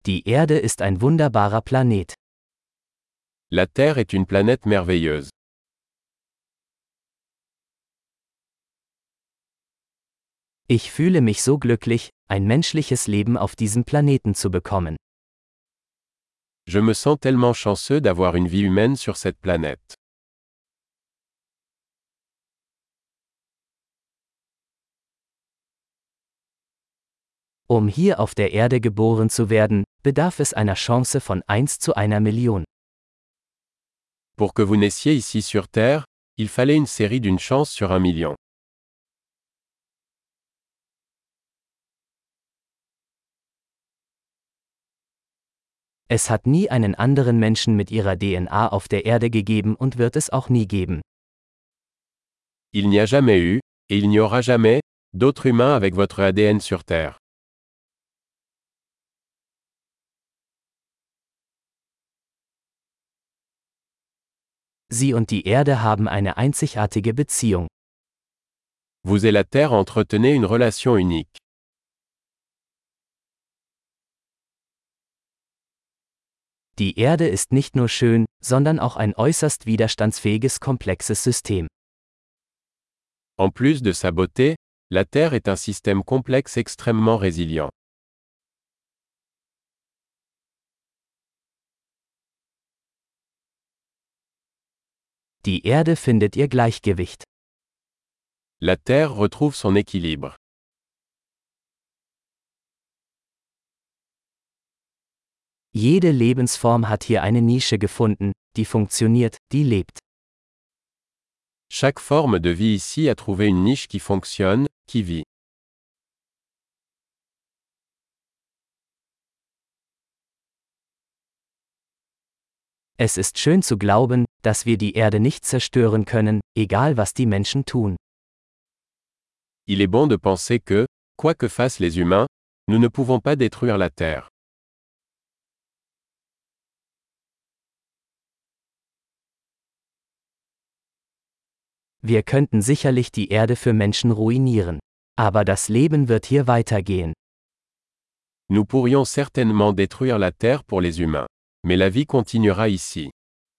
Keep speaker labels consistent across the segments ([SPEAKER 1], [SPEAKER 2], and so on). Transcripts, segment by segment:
[SPEAKER 1] Die Erde ist ein wunderbarer Planet.
[SPEAKER 2] La Terre est une planète merveilleuse.
[SPEAKER 1] Ich fühle mich so glücklich, ein menschliches Leben auf diesem Planeten zu bekommen.
[SPEAKER 2] Je me sens tellement chanceux d'avoir une vie humaine sur cette planète.
[SPEAKER 1] Um hier auf der Erde geboren zu werden, bedarf es einer Chance von 1 zu einer Million.
[SPEAKER 2] Pour que vous naissiez ici sur Terre, il fallait une série d'une chance sur 1 million.
[SPEAKER 1] Es hat nie einen anderen Menschen mit ihrer DNA auf der Erde gegeben und wird es auch nie geben.
[SPEAKER 2] Il n'y a jamais eu, et il n'y aura jamais, d'autres humains avec votre ADN sur Terre.
[SPEAKER 1] Sie und die Erde haben eine einzigartige Beziehung.
[SPEAKER 2] Vous et la Terre entretenez une relation unique.
[SPEAKER 1] Die Erde ist nicht nur schön, sondern auch ein äußerst widerstandsfähiges komplexes System.
[SPEAKER 2] En plus de sa beauté, la Terre est un système complexe extrêmement résilient.
[SPEAKER 1] Die Erde findet ihr Gleichgewicht.
[SPEAKER 2] La Terre retrouve son équilibre.
[SPEAKER 1] Jede Lebensform hat hier eine Nische gefunden, die funktioniert, die lebt.
[SPEAKER 2] Chaque forme de vie ici a trouvé une niche qui fonctionne, qui vit.
[SPEAKER 1] Es ist schön zu glauben, dass wir die Erde nicht zerstören können, egal was die Menschen tun.
[SPEAKER 2] Il est bon de penser que, quoi que fassent les humains, nous ne pouvons pas détruire la Terre.
[SPEAKER 1] Wir könnten sicherlich die Erde für Menschen ruinieren. Aber das Leben wird hier weitergehen.
[SPEAKER 2] Nous pourrions certainement détruire la Terre pour les humains. Mais la vie continuera ici.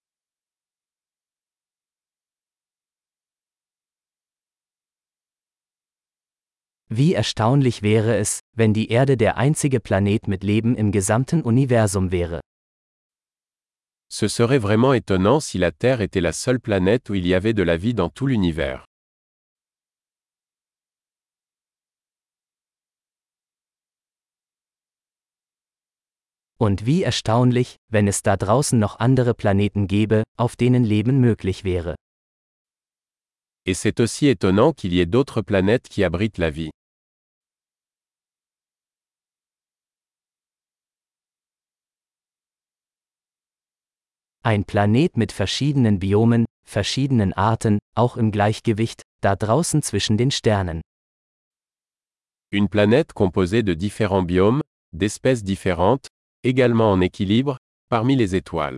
[SPEAKER 1] Wie erstaunlich wäre es, wenn die Erde der einzige Planet mit Leben im gesamten Universum wäre.
[SPEAKER 2] Ce serait vraiment étonnant si la Terre était la seule planète où il y avait de la vie dans tout l'univers.
[SPEAKER 1] Und wie erstaunlich, wenn es da draußen noch andere Planeten gäbe, auf denen Leben möglich wäre.
[SPEAKER 2] Et c'est aussi étonnant qu'il y ait d'autres planètes qui abritent la vie.
[SPEAKER 1] Ein Planet mit verschiedenen Biomen, verschiedenen Arten, auch im Gleichgewicht, da draußen zwischen den Sternen.
[SPEAKER 2] Une planète composée de différents biomes, d'espèces différentes, également en équilibre, parmi les étoiles.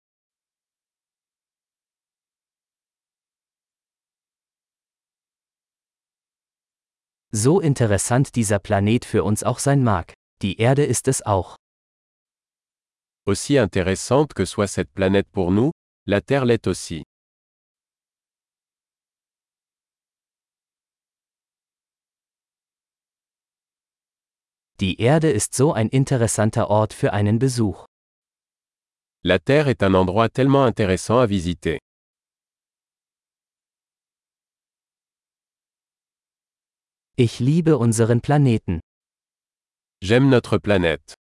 [SPEAKER 1] So interessant dieser Planet für uns auch sein mag, die Erde ist es auch.
[SPEAKER 2] Aussi intéressante que soit cette planète pour nous, la Terre l'est aussi.
[SPEAKER 1] Die Erde ist so ein interessanter Ort für einen Besuch.
[SPEAKER 2] La Terre est un endroit tellement intéressant à visiter.
[SPEAKER 1] Ich liebe unseren Planeten.
[SPEAKER 2] J'aime notre planète.